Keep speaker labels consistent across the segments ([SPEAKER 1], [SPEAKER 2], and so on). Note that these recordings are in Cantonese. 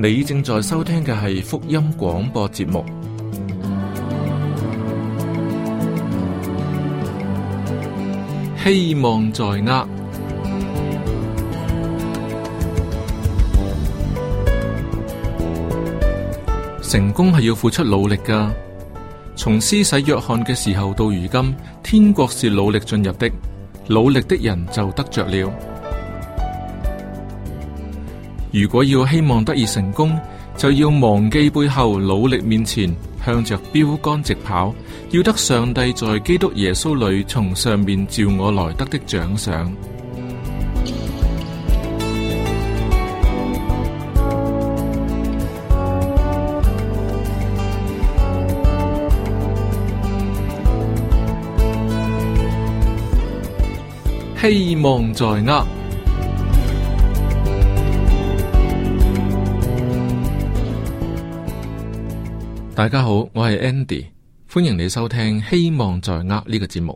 [SPEAKER 1] 你正在收聽嘅係福音廣播節目。希望在握。成功係要付出努力㗎。從施洗約翰嘅時候到如今，天國是努力進入的，努力的人就得着了。如果要希望得以成功，就要忘記背後，努力面前，向着標杆直跑，要得上帝在基督耶穌裏從上面召我來得的獎賞。希望在握。大家好，我係 Andy， 歡迎你收聽《希望在握》呢個節目。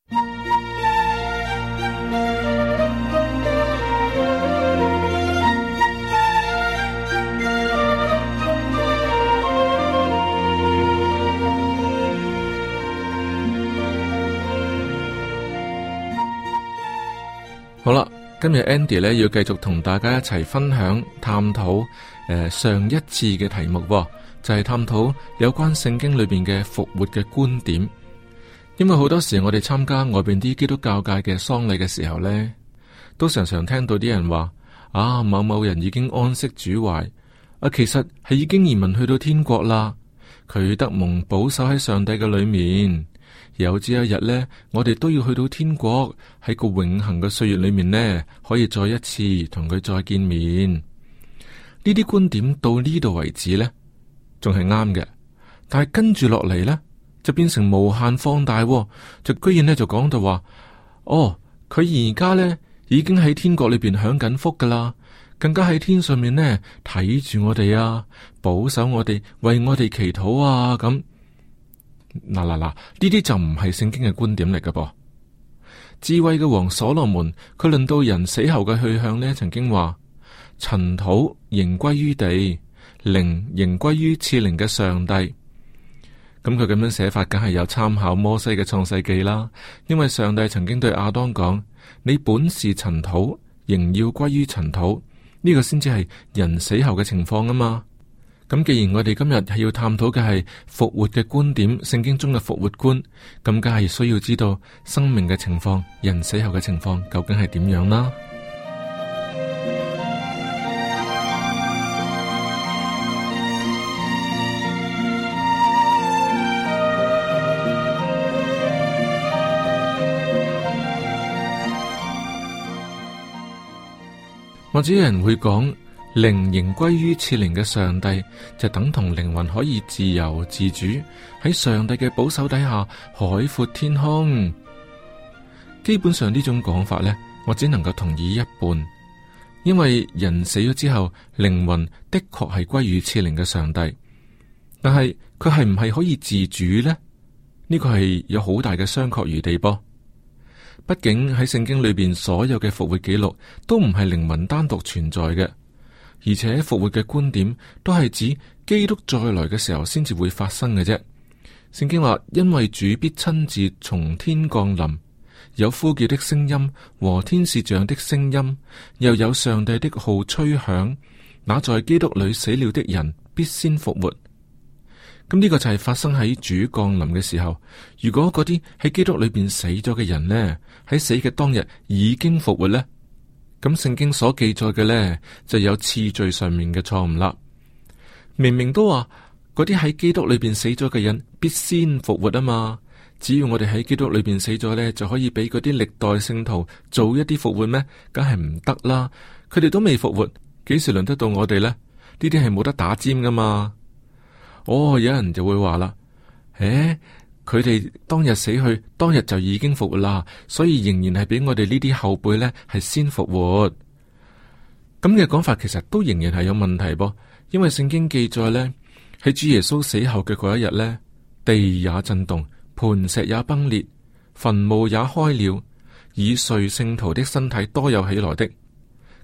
[SPEAKER 1] 好啦，今日 Andy 呢要繼續同大家一齊分享探討上一次嘅題目喎。就係探討有關聖經裏邊嘅復活嘅觀點，因為好多時我哋參加外邊啲基督教界嘅喪禮嘅時候呢，都常常聽到啲人話啊，某某人已經安息主懷，其實係已經移民去到天國啦，佢得蒙保守喺上帝嘅裏面，有朝一日呢，我哋都要去到天國，喺個永恆嘅歲月裏面呢，可以再一次同佢再見面。呢啲觀點到呢度為止呢，仲係啱嘅，但係跟住落嚟呢，就變成無限放大，就居然呢，就講到話，佢而家呢已經喺天國裏邊享緊福噶啦，更加喺天上面呢睇住我哋啊，保守我哋，為我哋祈禱啊，咁嗱，呢啲就唔係聖經嘅觀點嚟噶噃。智慧嘅王所羅門，佢論到人死後嘅去向呢，曾經話：塵土仍歸於地，靈仍歸於賜靈嘅上帝。咁佢咁樣寫法，梗係有參考摩西嘅創世記啦。因為上帝曾經對亞當講：你本是塵土，仍要歸於塵土。呢個先至係人死後嘅情況啊嘛。咁既然我哋今日係要探討嘅係復活嘅觀點，聖經中嘅復活觀，咁梗係需要知道生命嘅情況，人死後嘅情況究竟係點樣啦。或者有人會講，靈仍歸於賜靈嘅上帝，就等同靈魂可以自由自主喺上帝嘅保守底下海闊天空。基本上呢種講法呢，我只能夠同意一半，因為人死咗之後，靈魂的確係歸於賜靈嘅上帝，但係佢係唔係可以自主呢？呢個係有好大嘅商榷餘地噃。畢竟喺聖經裏邊所有嘅復活記錄都唔係靈魂單獨存在嘅，而且復活嘅觀點都係指基督再來嘅時候先至會發生嘅啫。聖經話，因為主必親自從天降臨，有呼叫的聲音和天使長的聲音，又有上帝的號吹響，那在基督裏死了的人必先復活。咁呢個就係發生喺主降臨嘅時候。如果嗰啲喺基督裏邊死咗嘅人呢，喺死嘅當日已經復活呢，咁聖經所記載嘅呢，就有次序上面嘅錯誤啦。明明都話嗰啲喺基督裏邊死咗嘅人必先復活啊嘛，只要我哋喺基督裏邊死咗呢，就可以俾嗰啲歷代聖徒做一啲復活咩？梗係唔得啦，佢哋都未復活，幾時輪得到我哋呢？呢啲係冇得打尖噶嘛。有人就會話啦，佢哋當日死去，當日就已經復活啦，所以仍然係俾我哋呢啲後輩呢係先復活。咁嘅講法其實都仍然係有問題噃，因為聖經記載呢，喺主耶穌死後嘅嗰一日呢，地也震動，磐石也崩裂，墳墓也開了，以睡聖徒的身體多有起來的。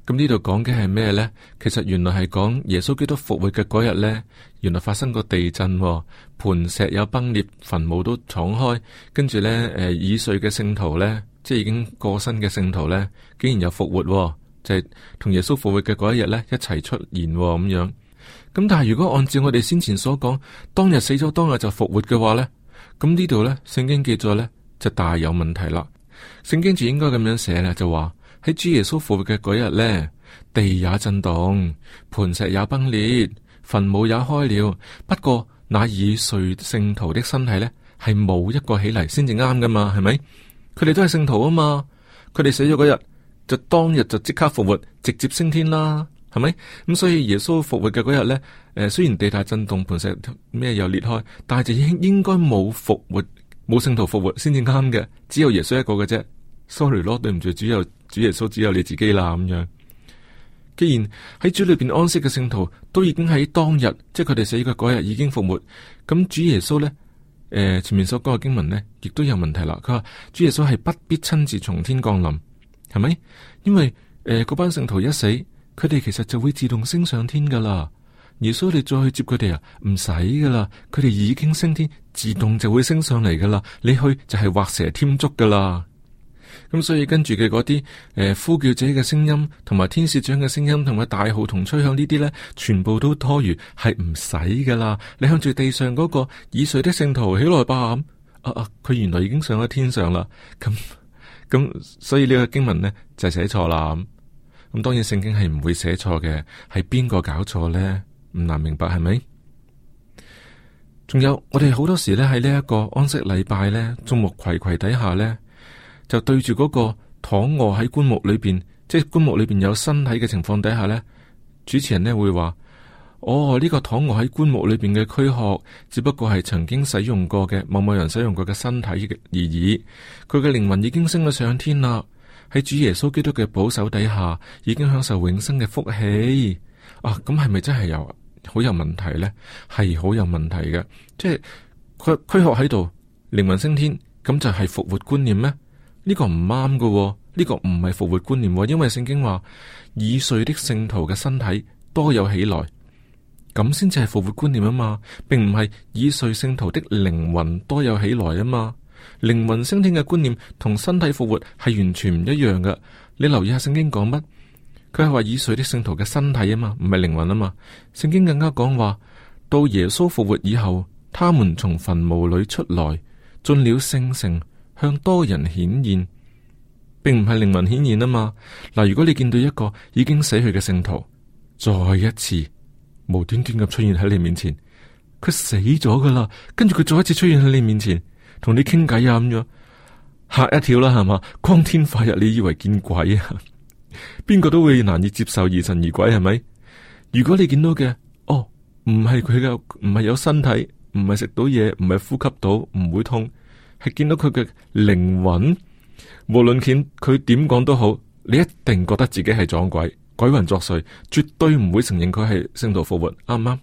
[SPEAKER 1] 咁呢度講嘅係咩呢？其實原來係講耶穌基督復活嘅嗰日呢，原來發生過地震，磐石有崩裂，墳墓都敞開，跟住呢，已睡嘅聖徒呢，即係已經過身嘅聖徒呢，竟然有復活，就係同耶穌復活嘅嗰一日呢，一齊出現咁樣。咁但係如果按照我哋先前所講，當日死咗當日就復活嘅話呢，咁呢度呢，聖經記載呢，就大有問題啦。聖經就應該咁樣寫啦，就話喺主耶穌復活嘅嗰日呢，地也震動，磐石也崩裂，墳墓也開了。不過那已睡聖徒的身體呢，係冇一個起嚟先至啱噶嘛，係咪？佢哋都係聖徒啊嘛，佢哋死咗嗰日就當日就即刻復活，直接升天啦，係咪？咁所以耶穌復活嘅嗰日呢，雖然地大震動，磐石咩又裂開，但係就應該冇復活，冇聖徒復活先至啱嘅，只有耶穌一個嘅啫。Sorry 咯，對唔住，主耶穌只有你自己啦咁樣。既然喺主裏邊安息嘅聖徒都已經喺當日，即係佢哋死嘅嗰日已經復活，咁主耶穌呢，前面所講嘅經文呢，亦都有問題啦。佢話主耶穌係不必親自從天降臨，係咪？因為嗰班聖徒一死，佢哋其實就會自動升上天噶啦。耶穌你再去接佢哋啊，唔使噶啦，佢哋已經升天，自動就會升上嚟噶啦。你去就係畫蛇添足噶啦。咁所以跟住嘅嗰啲呼叫者嘅聲音，同埋天使長嘅聲音，同埋大號同吹響呢啲呢，全部都多餘，係唔使噶啦。你向住地上嗰個已睡的聖徒起來吧，佢原來已經上咗天上啦。咁所以呢個經文呢，就寫錯啦。咁當然聖經係唔會寫錯嘅，係邊個搞錯呢？唔難明白係咪？仲有我哋好多時呢，喺呢一個安息禮拜呢，眾目睽睽底下呢，就對住嗰個躺臥喺棺木裏邊，即係棺木裏邊有身體嘅情況底下呢，主持人呢會話：呢個躺臥喺棺木裏邊嘅軀殼，只不過係曾經使用過嘅某某人使用過嘅身體而已。佢嘅靈魂已經升咗上天啦，喺主耶穌基督嘅保守底下，已經享受永生嘅福氣。咁係咪真係好有問題呢？係好有問題嘅，即係佢軀殼喺度，靈魂升天，咁就係復活觀念咩？呢個唔啱㗎，呢個唔係復活觀念，因為聖經話已睡的聖徒嘅身體多有起來，咁先至係復活觀念啊嘛，並唔係已睡聖徒的靈魂多有起來啊嘛。靈魂升天嘅觀念同身體復活係完全唔一樣㗎。你留意下聖經講乜？佢係話已睡的聖徒嘅身體啊嘛，唔係靈魂啊嘛。聖經更加講話，到耶穌復活以後，他們從墳墓裏出來，進了聖城，向多人顯現，並唔係靈魂顯現啊嘛。嗱，如果你見到一個已經死去嘅聖徒，再一次無端端咁出現喺你面前，佢死咗噶啦，跟住佢再一次出現喺你面前，同你傾偈啊咁樣，嚇一跳啦，係嘛？光天化日，你以為見鬼啊？邊個都會難以接受疑神疑鬼，係咪？如果你見到嘅，唔係佢嘅，唔係有身體，唔係食到嘢，唔係呼吸到，唔會痛，係見到佢嘅靈魂，無論佢點講都好，你一定覺得自己係撞鬼，鬼魂作祟，絕對唔會承認佢係聖徒復活，啱唔啱？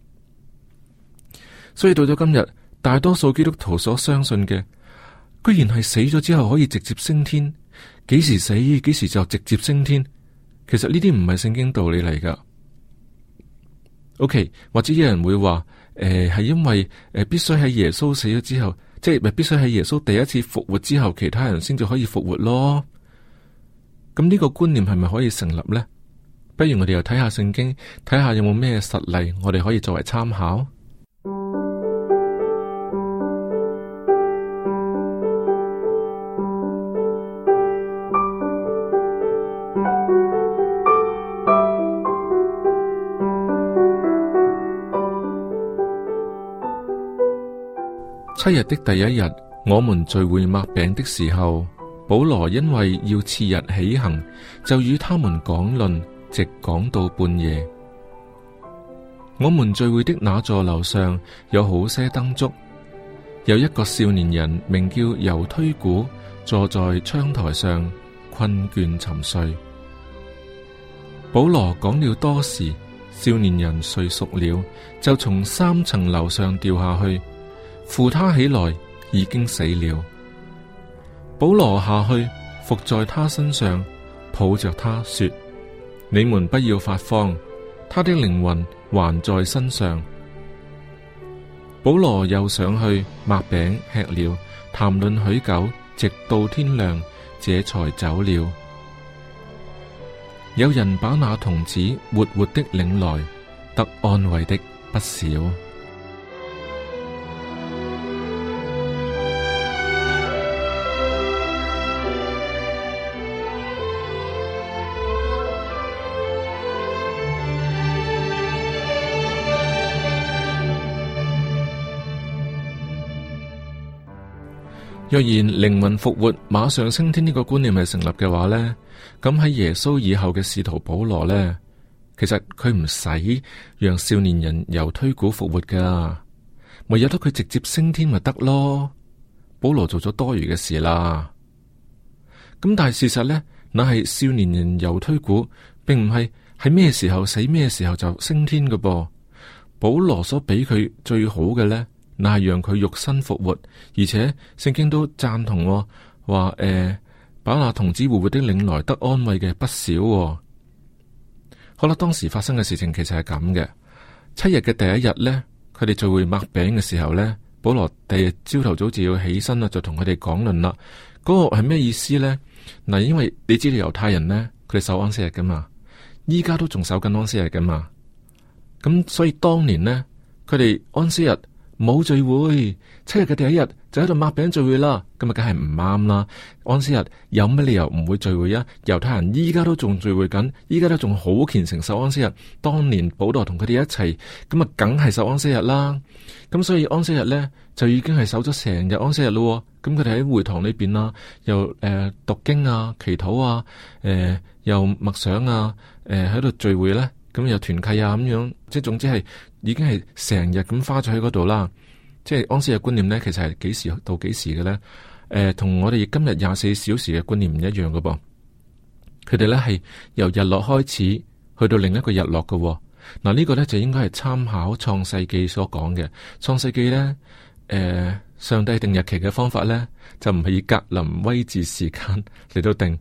[SPEAKER 1] 所以到咗今日，大多數基督徒所相信嘅，居然係死咗之後可以直接升天。幾時死幾時就直接升天，其實呢啲唔係聖經道理嚟噶。OK， 或者有人會話，係因為必須喺耶穌死咗之後，即係必須喺耶穌第一次復活之後，其他人先至可以復活咯。咁呢個觀念係咪可以成立呢？不如我哋又睇下聖經，睇下有冇咩實例，我哋可以作為參考。7日的第一日，我們聚會擘餅的時候，保羅因為要次日起行，就與他們講論，直講到半夜。我們聚會的那座樓上有好些燈燭，有一個少年人名叫猶推古，坐在窗台上困倦沉睡。保羅講了多時，少年人睡熟了，就從3層樓上掉下去。扶他起來，已經死了。保羅下去，伏在他身上，抱着他說： 你們不要發慌，他的靈魂還在身上。保羅又上去擘餅吃了，談論許久，直到天亮，這才走了。有人把那童子活活的領來，得安慰的不少。若然靈魂復活馬上升天呢個觀念係成立嘅話呢，咁喺耶穌以後嘅使徒保羅呢，其實佢唔使讓少年人由推古復活噶，咪由得佢直接升天咪得咯。保羅做咗多餘嘅事啦。咁但係事實呢，那係少年人由推古，並唔係喺咩時候死咩時候就升天噶噃。保羅所俾佢最好嘅呢，那係讓佢肉身復活，而且聖經都贊同話把那童子活活的領來，得安慰嘅不少。好啦，當時發生嘅事情其實係咁嘅。7日嘅第一日呢，佢哋聚會擘餅嘅時候呢，保羅第二日朝頭早就要起身啦，就同佢哋講論啦。嗰個係咩意思呢？嗱，因為你知道猶太人呢，佢哋守安息日噶嘛，依家都仲守緊安息日噶嘛。咁所以當年呢，佢哋安息日冇聚會，7日嘅第一日就喺度擘餅聚會啦，咁啊梗係唔啱啦。安息日有乜理由唔會聚會啊？猶太人依家都仲聚會緊，依家都仲好虔誠守安息日。當年保羅同佢哋一齊，咁啊梗係守安息日啦。咁所以安息日呢，就已經係守咗成日安息日咯。咁佢哋喺會堂裏邊啦，又讀經啊、祈禱啊、又默想啊、喺度聚會呢。咁又團契啊咁樣，即係總之係已經係成日咁花咗喺嗰度啦。即係安息日觀念呢，其實係幾時到幾時嘅呢？同我哋今日24小時嘅觀念唔一樣嘅噃。佢哋呢係由日落開始去到另一個日落嘅。嗱，呢個呢就應該係參考創世記所講嘅。創世記呢，上帝定日期嘅方法呢，就唔係以格林威治時間嚟到定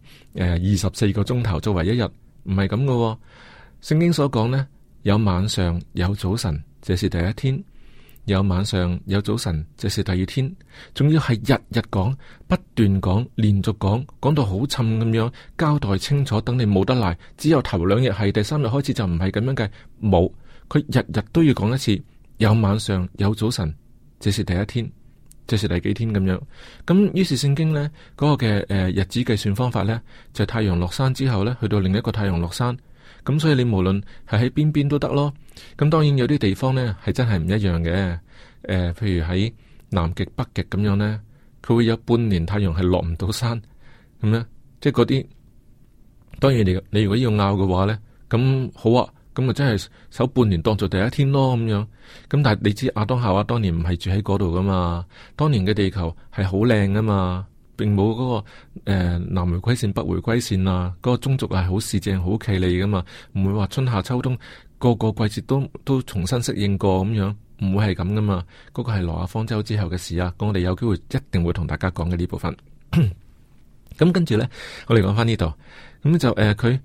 [SPEAKER 1] 24個鐘頭作為一日，唔係咁嘅。聖經所講呢，有晚上有早晨，這是第一天；有晚上有早晨，這是第二天。仲要係日日講，不斷講，連續講，講到好沉咁樣交代清楚，等你冇得賴。只有頭2日係，第3日開始就唔係咁樣計，冇。佢日日都要講一次，有晚上有早晨，這是第一天，這是第幾天咁樣。咁於是聖經呢嗰個嘅日子計算方法呢，就係太陽落山之後呢，去到另一個太陽落山。咁所以你無論係喺邊邊都得咯。咁當然有啲地方呢係真係唔一樣嘅。譬如喺南極、北極咁樣呢，佢會有半年太陽係落唔到山咁呢，即係嗰啲。當然你如果要拗嘅話呢，咁好啊，咁啊真係守半年當做第一天咯咁樣。咁但係你知亞當夏娃當年唔係住喺嗰度噶嘛，當年嘅地球係好靚噶嘛。並冇嗰個南回歸線、北回歸線啊，嗰個中軸係好四正、好企理噶嘛，唔會話春夏秋冬個個季節都重新適應過咁樣，唔會係咁噶嘛。嗰個係挪亞方舟之後嘅事啊，咁我哋有機會一定會同大家講嘅呢部分。咁跟住咧，我哋講翻呢度，咁就佢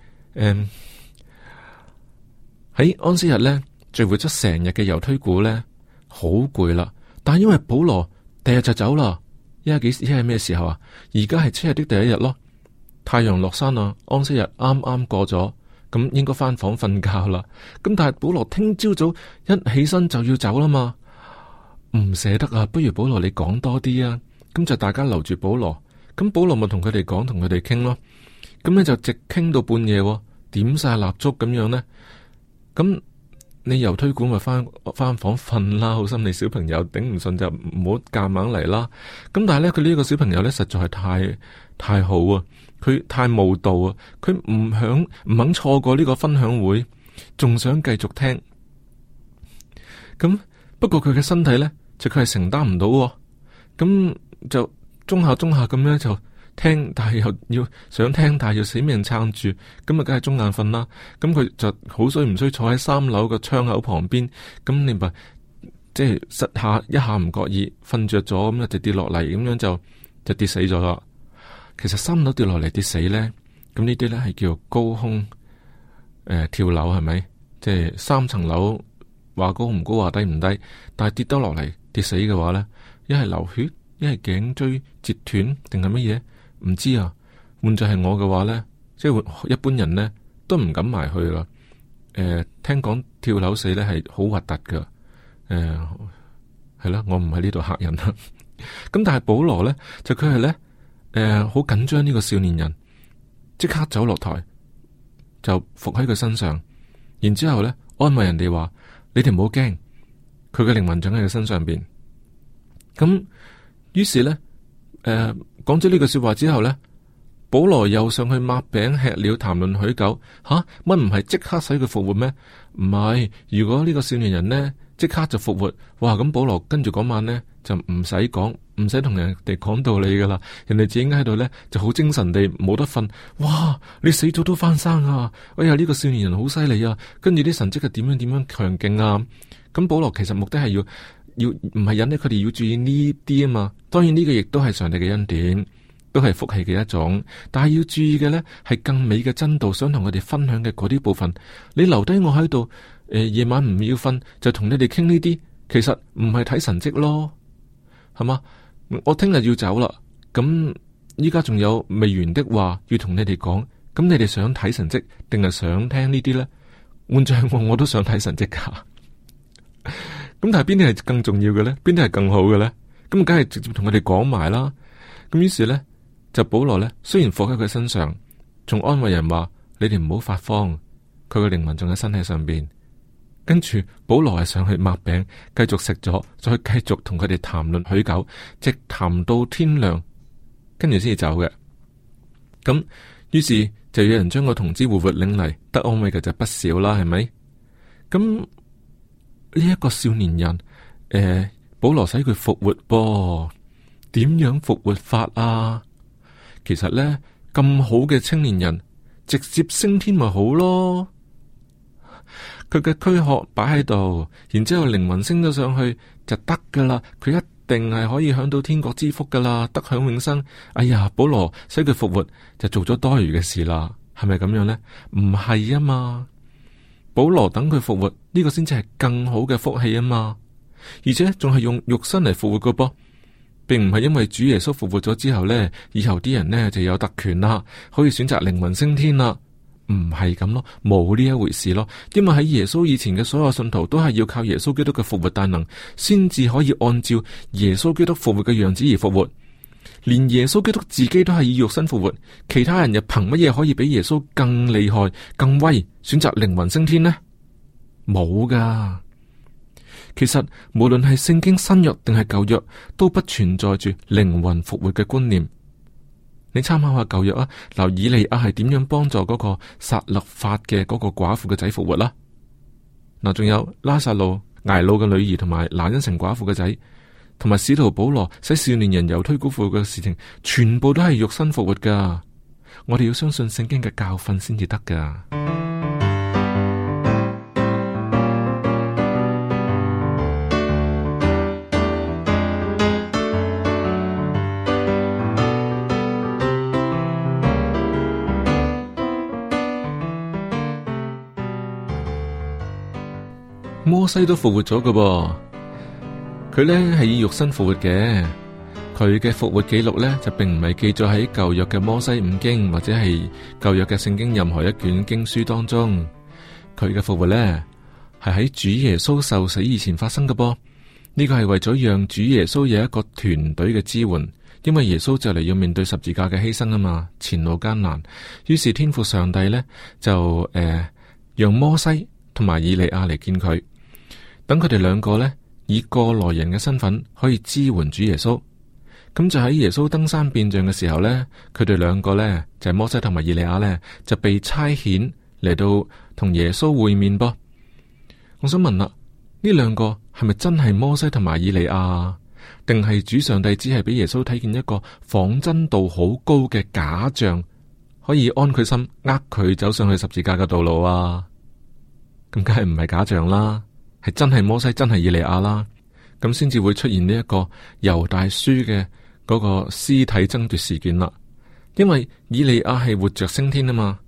[SPEAKER 1] 喺安息日咧聚會咗成日嘅猶推古咧，好攰啦。但係因為保羅第日就走啦。依家係咩時候啊？而家係7日的第一日咯，太陽落山啦，安息日啱啱過咗，咁應該翻房瞓覺啦。咁但係保羅聽朝早一起身就要走啦嘛，唔捨得啊，不如保羅你講多啲啊。咁就大家留住保羅，咁保羅咪同佢哋講，同佢哋傾咯。咁咧就直傾到半夜，點晒蠟燭咁樣呢。咁你由推古咪翻房瞓啦，好心你小朋友頂唔順就唔好夾硬嚟啦。咁但係咧，佢呢個小朋友咧實在係太好啊，佢太慕道啊，佢唔肯錯過呢個分享會，仲想繼續聽。咁不過佢嘅身體咧，就佢係承擔唔到，咁就中下咁樣就聽，但係又要想聽，但係要死命撐住，咁啊，梗係中眼瞓啦。咁佢就好衰唔衰坐喺3樓個窗口旁邊，咁你咪即係一下唔覺意瞓着咗，咁就跌落嚟，咁樣就跌死咗啦。其實3樓跌落嚟跌死咧，咁呢啲咧係叫高空跳樓係咪？即係3層樓，話高唔高話低唔低，但係跌得落嚟跌死嘅話呢，一係流血，一係頸椎折斷，定係乜嘢？唔知啊。換作係我嘅話呢，即係一般人呢都唔敢埋去啦。聽講跳樓死呢係好核突噶。係啦，我唔喺呢度嚇人啦。咁但係保羅呢，就佢係呢，好緊張呢個少年人，即刻走落台就伏喺佢身上，然之後呢安慰人哋話：你哋唔好驚，佢嘅靈魂長喺佢身上邊。咁於是呢，講咗呢句說話之後呢，保羅又上去擘餅吃了，談論許久。乜唔係即刻使佢復活咩？唔係，如果呢個少年人呢即刻就復活，哇！咁保羅跟住嗰晚呢，就唔使講，唔使同人哋講道理噶啦，人哋自己喺度呢，就好精神地冇得瞓。哇！你死咗都翻生啊！哎呀，呢個少年人好犀利啊！跟住啲神蹟係點樣強勁啊！咁保羅其實目的係要唔係引起佢哋要注意呢啲啊嘛。當然呢個亦都係上帝嘅恩典，都係福氣嘅一種。但係要注意嘅呢，係更美嘅真道，想同佢哋分享嘅嗰啲部分。你留低我喺度。夜晚唔要瞓就同你哋傾呢啲，其實唔係睇神蹟咯，係嘛？我聽日要走啦，咁依家仲有未完的話要同你哋講，咁你哋想睇神蹟定係想聽呢啲呢？換着我都想睇神蹟噶，咁但係邊啲係更重要嘅呢？邊啲係更好嘅呢？咁梗係直接同佢哋講埋啦。咁於是呢，就保羅呢，雖然伏喺佢身上，仲安慰人話：你哋唔好發慌，佢嘅靈魂仲喺身體上邊。跟住保羅係上去擘餅，繼續食咗，再繼續同佢哋談論許久，直談到天亮，跟住先至走嘅。咁於是就有人將個童子活活領嚟，得安慰嘅就不少啦，係咪？咁呢一個少年人，保羅使佢復活噃，點樣復活法啊？其實呢，咁好嘅青年人，直接升天咪好咯。佢嘅軀殼擺喺度，然之後靈魂升咗上去就得噶啦。佢一定係可以享到天國之福噶啦，得享永生。哎呀，保羅使佢復活就做咗多餘嘅事啦，係咪咁樣呢？唔係啊嘛，保羅等佢復活呢個先至係更好嘅福氣啊嘛，而且仲係用肉身嚟復活噶噃，並唔係因為主耶穌復活咗之後呢，以後啲人呢就有特權啦，可以選擇靈魂升天啦。唔係咁咯，冇呢一回事咯。因為喺耶穌以前嘅所有信徒都係要靠耶穌基督嘅復活大能，先至可以按照耶穌基督復活嘅樣子而復活。連耶穌基督自己都係以肉身復活，其他人又憑乜嘢可以比耶穌更厲害、更威，選擇靈魂升天呢？冇噶。其實無論係聖經新約定係舊約，都不存在住靈魂復活嘅觀念。你參考下舊約啊，嗱，以利亞係點樣幫助嗰個撒勒法嘅嗰個寡婦嘅仔復活啦？嗱，仲有拉撒路睚魯嘅女兒同埋拿因城寡婦嘅仔，同埋使徒保羅使少年人猶推古復活嘅事情，全部都係肉身復活噶。我哋要相信聖經嘅教訓先至得噶。摩西都復活咗㗎噃，佢呢係以肉身復活嘅，佢嘅復活記錄呢，就並唔係記載喺舊約嘅摩西五經或者係舊約嘅聖經任何一卷經書當中，佢嘅復活呢，係喺主耶穌受死以前發生㗎噃。呢個係為咗讓主耶穌有一個團隊嘅支援，因為耶穌就嚟要面對十字架嘅犧牲啊嘛，前路艱難，於是天父上帝呢，就讓摩西同埋以利亞嚟見佢。等佢哋兩個呢，以過來人嘅身份可以支援主耶穌，咁就喺耶穌登山變像嘅時候呢，佢哋兩個呢，就係摩西同埋以利亞呢，就被差遣嚟到同耶穌會面噃。我想問啦，呢兩個係咪真係摩西同埋以利亞，定係主上帝只係俾耶穌睇見一個仿真度好高嘅假象，可以安佢心，呃佢走上去十字架嘅道路啊？咁梗係唔係假象啦，係真係摩西，真係以利亞啦，咁先至會出現呢一個猶大書嘅嗰個屍體爭奪事件啦。因為以利亞係活着升天啊嘛，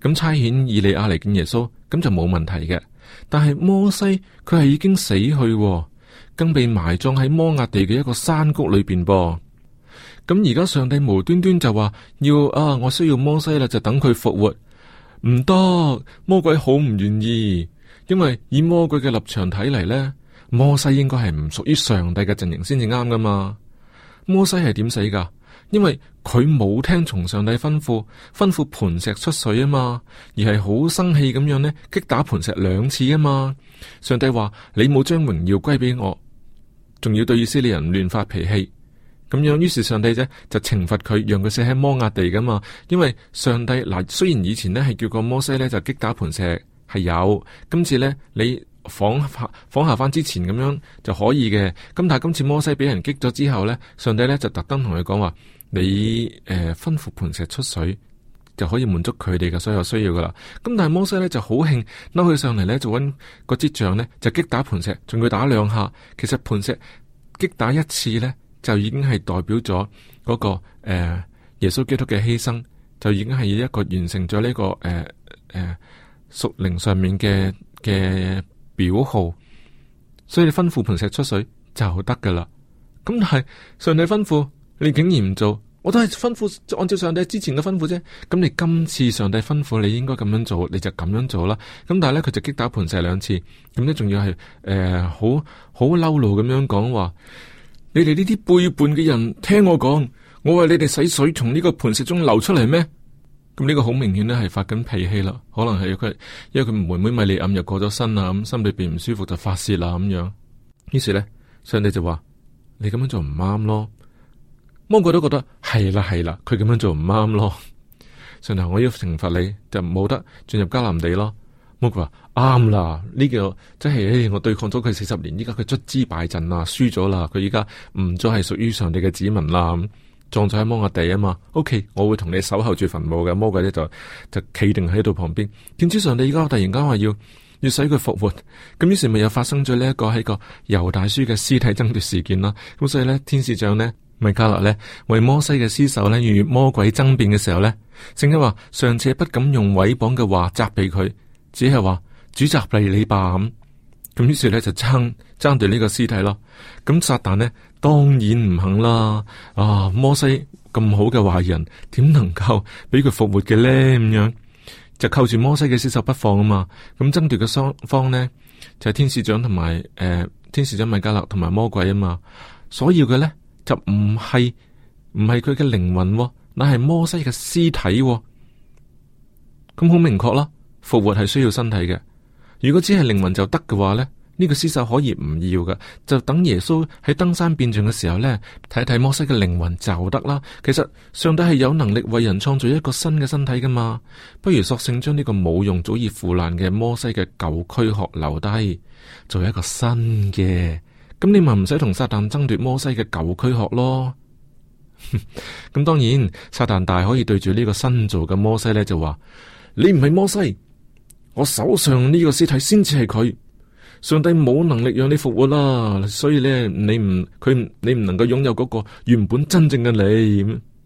[SPEAKER 1] 咁差遣以利亞嚟見耶穌，咁就冇問題嘅。但係摩西佢係已經死去，更被埋葬喺摩押地嘅一個山谷裏邊噃。咁而家上帝無端端就話我需要摩西啦，就等佢復活，唔得，魔鬼好唔願意，因為以魔鬼嘅立場睇嚟呢，摩西應該係唔屬於上帝嘅陣營先至啱噶嘛。摩西係點死噶？因為佢冇聽從上帝吩咐磐石出水啊嘛，而係好生氣咁樣呢，擊打磐石2次啊嘛。上帝話你冇將榮耀歸俾我，仲要對以色列人亂發脾氣。咁樣，於是上帝就懲罰佢，讓佢死喺摩押地噶嘛。因為上帝雖然以前呢係叫過摩西呢就擊打磐石係有，今次呢你仿效翻之前咁樣就可以嘅。咁但係今次摩西俾人擊咗之後呢，上帝呢就特登同佢講話，你吩咐磐石出水就可以滿足佢哋嘅所有需要噶啦。咁但係摩西呢就好興，嬲佢上嚟呢就揾個支杖呢就擊打磐石，仲要打2下。其實磐石擊打1次呢，就已經係代表咗嗰個耶穌基督嘅犧牲，就已經係一個完成咗呢個屬靈上面嘅表號。所以你吩咐磐石出水就得噶啦。咁但係上帝吩咐你竟然唔做，我都係吩咐按照上帝之前嘅吩咐啫。咁你今次上帝吩咐你應該咁樣做，你就咁樣做啦。咁但係咧佢就擊打磐石2次，咁咧仲要係好嬲怒咁樣講話。你哋呢啲背叛嘅人，聽我講，我為你哋使水從呢個磐石中流出嚟咩？咁呢個好明顯咧係發緊脾氣啦，可能係因為佢妹妹米利暗又過咗身啦，咁心裏邊唔舒服就發洩啦咁樣。於是咧，上帝就話：你咁樣做唔啱咯。魔鬼都覺得係啦，佢咁樣做唔啱咯。上帝，我要懲罰你，就冇得進入迦南地咯。魔鬼話啱啦，呢個即係我對抗咗佢40年，依家佢卒之敗陣啦，輸咗啦，佢依家唔再係屬於上帝嘅子民啦，葬咗喺摩押地啊嘛。OK， 我會同你守候住墳墓嘅。魔鬼咧就企定喺度旁邊。點知上帝依家突然間話要使佢復活，咁於是咪又發生咗呢一個喺個猶大書嘅屍體爭奪事件啦。咁所以咧，天使長呢，米迦勒呢，為摩西嘅屍首呢，與魔鬼爭辯嘅時候呢，聖經話尚且不敢用毀謗嘅話責備佢。只係話主責備你吧咁，於是咧就爭奪呢個屍體咯。咁撒旦呢，當然唔肯啦。摩西咁好嘅壞人，點能夠俾佢復活嘅咧？咁樣就扣住摩西嘅屍首不放啊嘛。咁爭奪嘅雙方呢，就係天使長同埋天使長米迦勒同埋魔鬼啊嘛。所要嘅咧就唔係佢嘅靈魂，乃係摩西嘅屍體。咁好明確啦。復活係需要身體嘅，如果只係靈魂就得嘅話呢，呢個屍首可以唔要嘅，就等耶穌喺登山變像嘅時候呢，睇睇摩西嘅靈魂就得啦。其實上帝係有能力為人創造一個新嘅身體噶嘛，不如索性將呢個冇用早已腐爛嘅摩西嘅舊軀殼留低，做一個新嘅，咁你咪唔使同撒旦爭奪摩西嘅舊軀殼咯。咁當然撒旦大可以對住呢個新造嘅摩西呢，就話你唔係摩西。我手上呢個屍體先至係佢，上帝冇能力讓你復活啦，所以咧你唔能夠擁有嗰個原本真正嘅你。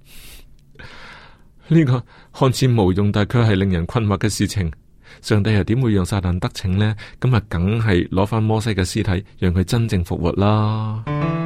[SPEAKER 1] 呢個看似無用，但卻係令人困惑嘅事情，上帝又點會讓撒旦得逞呢？咁啊，梗係攞翻摩西嘅屍體，讓佢真正復活啦。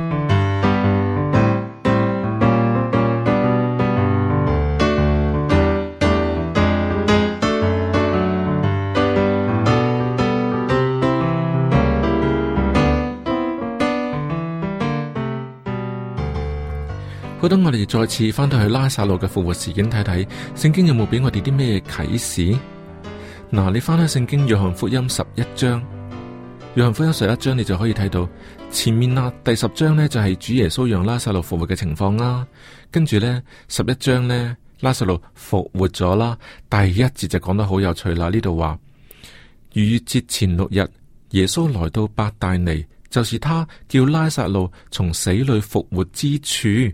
[SPEAKER 1] 好，等我哋再次翻到去拉撒路嘅復活事件睇睇，聖經有冇俾我哋啲咩啟示？嗱，你翻去聖經約翰福音11章，約翰福音11章你就可以睇到前面啦，第10章呢就係主耶穌讓拉撒路復活嘅情況啦，跟住呢11章呢拉撒路復活咗啦，第1節就講得好有趣啦，呢度話逾越節前6日，耶穌來到伯大尼，就是他叫拉撒路從死裏復活之處。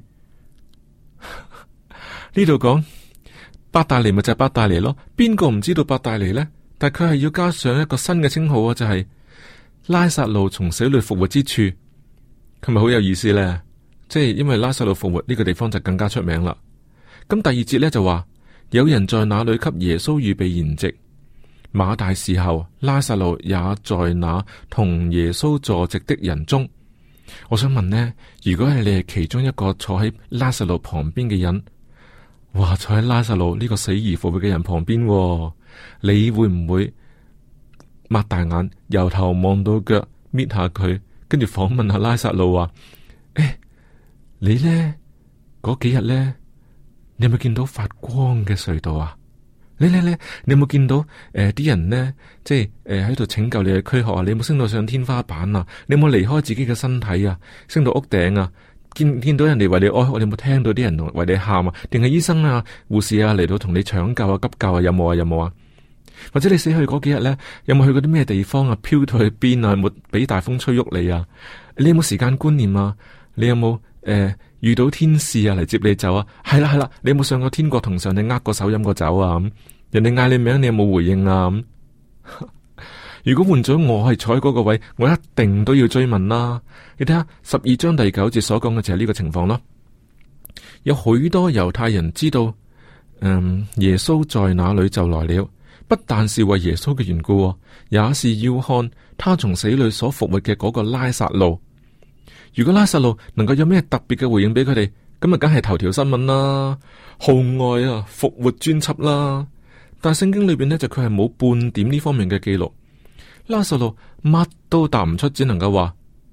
[SPEAKER 1] 呢度講伯大尼咪就係伯大尼咯，邊個唔知道伯大尼呢？但係佢係要加上一個新嘅稱號啊，就係拉撒路從死裏復活之處，係咪好有意思呢？即係因為拉撒路復活呢個地方就更加出名啦。咁第2節呢就話有人在那裏給耶穌預備筵席。馬大伺候，拉撒路也在那同耶穌坐席的人中。我想問呢，如果係你係其中一個坐喺拉撒路旁邊嘅人，哇，坐喺拉撒路呢個死而復活嘅人旁邊，你會唔會擘大眼由頭望到腳搣下佢，跟住訪問下拉撒路話：你呢嗰幾日呢，你有冇見到發光嘅隧道啊？你有冇見到啲人呢？即係喺度拯救你嘅軀殼啊？你有冇升到上天花板啊？你有冇離開自己嘅身體啊？升到屋頂啊？見到人哋為你哀哭，你有冇聽到啲人為你喊啊？定係醫生啊、護士啊嚟到同你搶救啊、急救啊？有冇啊？或者你死去嗰幾日呢，有冇去過啲咩地方啊？飄到去邊啊？有冇俾大風吹喐你啊？你有冇時間觀念啊？你有冇遇到天使啊嚟接你走啊？係啦，你有冇上過天國同上帝握過手飲過酒啊？人哋嗌你名，你有冇回應啊？如果換咗我係坐喺嗰個位，我一定都要追問啦。你睇下12章第9節所講嘅就係呢個情況咯。有許多猶太人知道，耶穌在那裏就來了，不但是為耶穌嘅緣故，也是要看他從死裏所復活嘅嗰個拉撒路。如果拉撒路能夠有咩特別嘅回應俾佢哋，咁啊，梗係頭條新聞啦，號外啊，復活專輯啦。但係聖經裏邊呢，就佢係冇半點呢方面嘅記錄。拉撒路乜都答唔出，只能夠話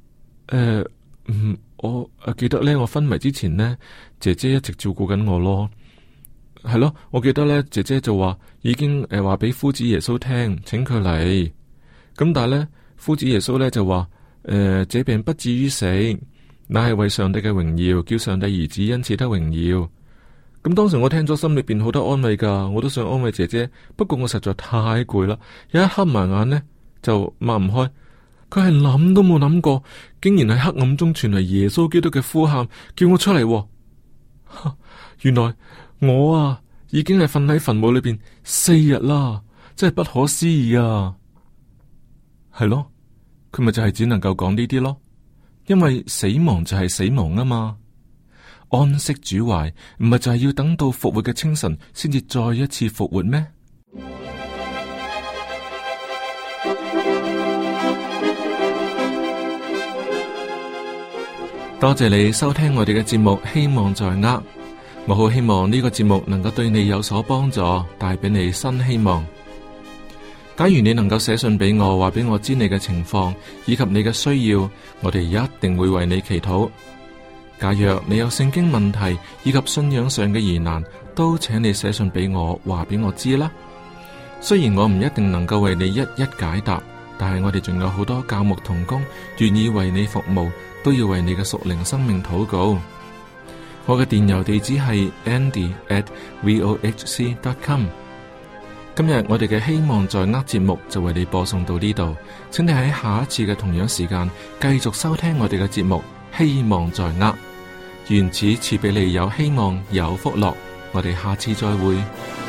[SPEAKER 1] 我記得呢，我昏迷之前呢，姐姐一直照顧緊我咯。係咯，我記得呢，姐姐就話已經話俾夫子耶穌聽，請佢嚟。咁但係呢，夫子耶穌呢就話這病不至於死，乃係為上帝嘅榮耀，叫上帝兒子因此得榮耀。咁當時我聽咗，心裏邊好多安慰噶，我都想安慰姐姐，不過我實在太攰啦，一黑埋眼呢，就擘唔開。佢係諗都冇諗過，竟然喺黑暗中傳嚟耶穌基督嘅呼喊，叫我出嚟。原來我啊已經係瞓喺墳墓裏邊4日啦，真係不可思議啊！係咯，佢咪就係只能夠講呢啲咯，因為死亡就係死亡啊嘛。安息主懷，唔係就係要等到復活嘅清晨先至再一次復活咩？多謝你收聽我哋嘅節目，希望在握。我好希望呢個節目能夠對你有所幫助，帶俾你新希望。假如你能夠寫信俾我，話俾我知你嘅情況以及你嘅需要，我哋一定會為你祈禱。假若你有聖經問題以及信仰上嘅疑難，都請你寫信俾我，話俾我知啦。雖然我唔一定能夠為你一一解答，但係我哋仲有好多教牧同工願意為你服務，都要為你嘅屬靈生命禱告。我嘅電郵地址係 andy@vohc.com。今日我哋嘅希望在握節目就為你播送到呢度，請你喺下一次嘅同樣時間繼續收聽我哋嘅節目，希望在握。願此賜俾你有希望有福樂，我哋下次再會。